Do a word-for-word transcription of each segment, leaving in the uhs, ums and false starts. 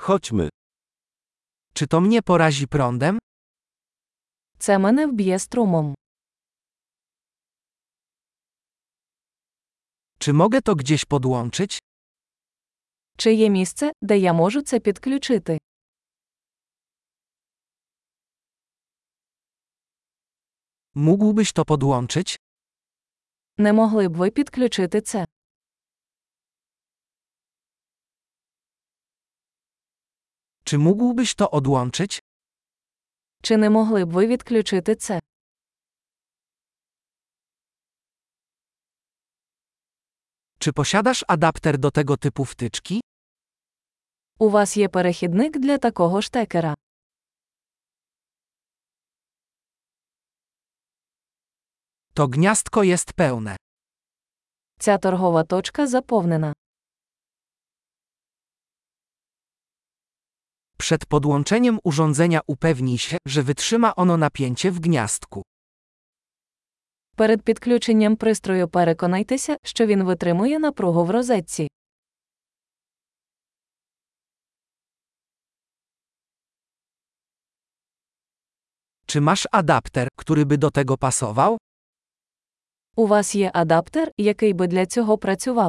Chodźmy. Czy to mnie porazi prądem? Це мене вб'є струмом. Czy mogę to gdzieś podłączyć? Чи є місце, де я можу це підключити? Mógłbyś to podłączyć? Не могли б ви підключити це? Czy mógłbyś to odłączyć? Чи не могли б ви відключити це? Czy posiadasz adapter do tego typu wtyczki? У вас є перехідник для такого штекера. To gniazdko jest pełne. Ця торгова точка заповнена. Przed podłączeniem urządzenia upewnij się, że wytrzyma ono napięcie w gniazdku. Перед підключенням пристрою переконайтеся, що він витримує напругу в розетці. Czy masz adapter, który by do tego pasował? У вас є адаптер, який би для цього працював.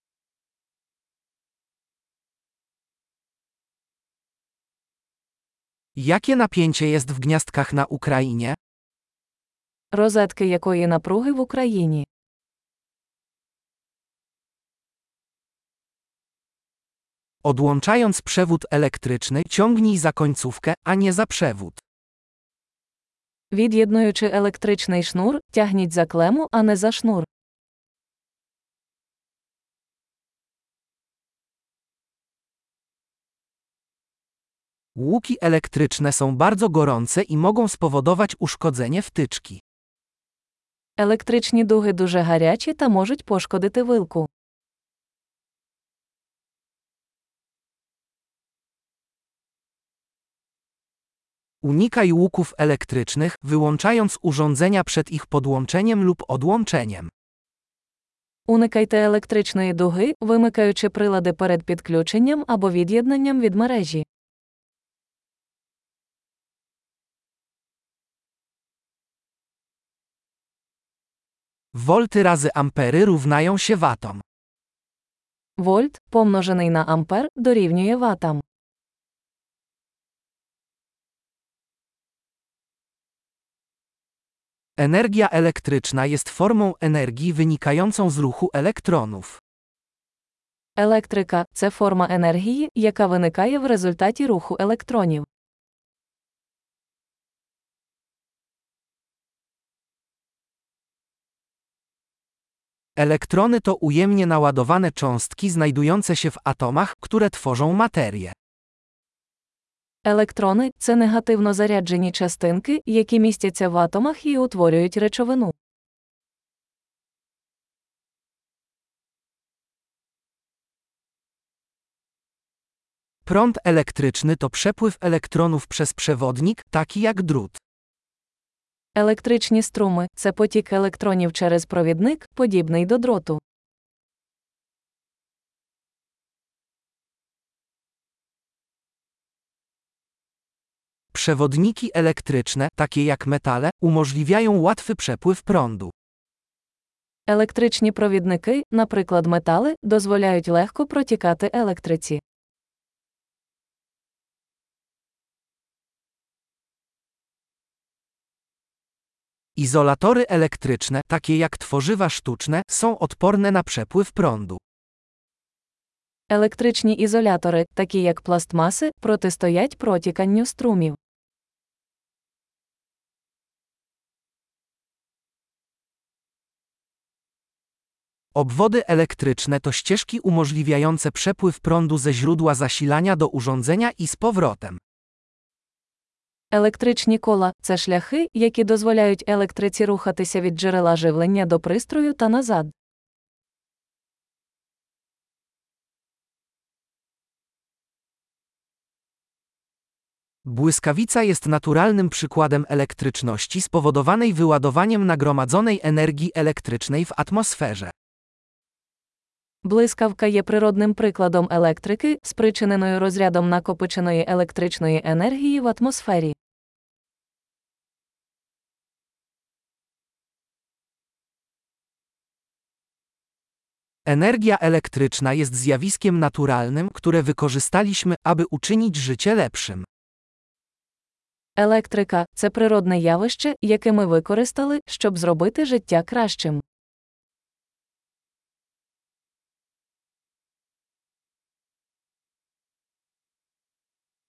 Jakie napięcie jest w gniazdkach na Ukrainie? Розетки якої напруги в Україні? Odłączając przewód elektryczny, ciągnij za końcówkę, a nie za przewód. Від'єднуючи електричний шнур, тягніть за клему, а не за шнур. Łuki elektryczne są bardzo gorące i mogą spowodować uszkodzenie wtyczki. Електричні дуги дуже гарячі та можуть пошкодити вилку. Unikaj łuków elektrycznych, wyłączając urządzenia przed ich podłączeniem lub odłączeniem. Уникайте електричної дуги, вимикаючи прилади перед підключенням або від'єднанням від мережі. Wolty razy ampery równają się watom. Вольт, помножений на ампер, дорівнює ватам. Energia elektryczna jest formą energii wynikającą z ruchu elektronów. Електрика – це форма енергії, яка виникає в результаті руху електронів. Elektrony to ujemnie naładowane cząstki znajdujące się w atomach, które tworzą materię. Електрони – це негативно заряджені частинки, які містяться в атомах і утворюють речовину. Prąd elektryczny to przepływ elektronów przez przewodnik, taki jak drut. Електричні струми – це потік електронів через провідник, подібний до дроту. Przewodniki elektryczne, takie jak metale, umożliwiają łatwy przepływ prądu. Електричні провідники, наприклад метали, дозволяють легко протікати електриці. Izolatory elektryczne, takie jak tworzywa sztuczne, są odporne na przepływ prądu. Електричні ізолятори, такі як пластмаси, протистоять протіканню струмів. Obwody elektryczne to ścieżki umożliwiające przepływ prądu ze źródła zasilania do urządzenia i z powrotem. Електричні кола – це шляхи, які дозволяють електриці рухатися від джерела живлення до пристрою та назад. Błyskawica jest naturalnym przykładem elektryczności spowodowanej wyładowaniem nagromadzonej energii elektrycznej w atmosferze. Блискавка є природним прикладом електрики, спричиненою розрядом накопиченої електричної енергії в атмосфері. Energia elektryczna jest zjawiskiem naturalnym, które wykorzystaliśmy, aby uczynić życie lepszym. Електрика – це природне явище, яке ми використали, щоб зробити життя кращим.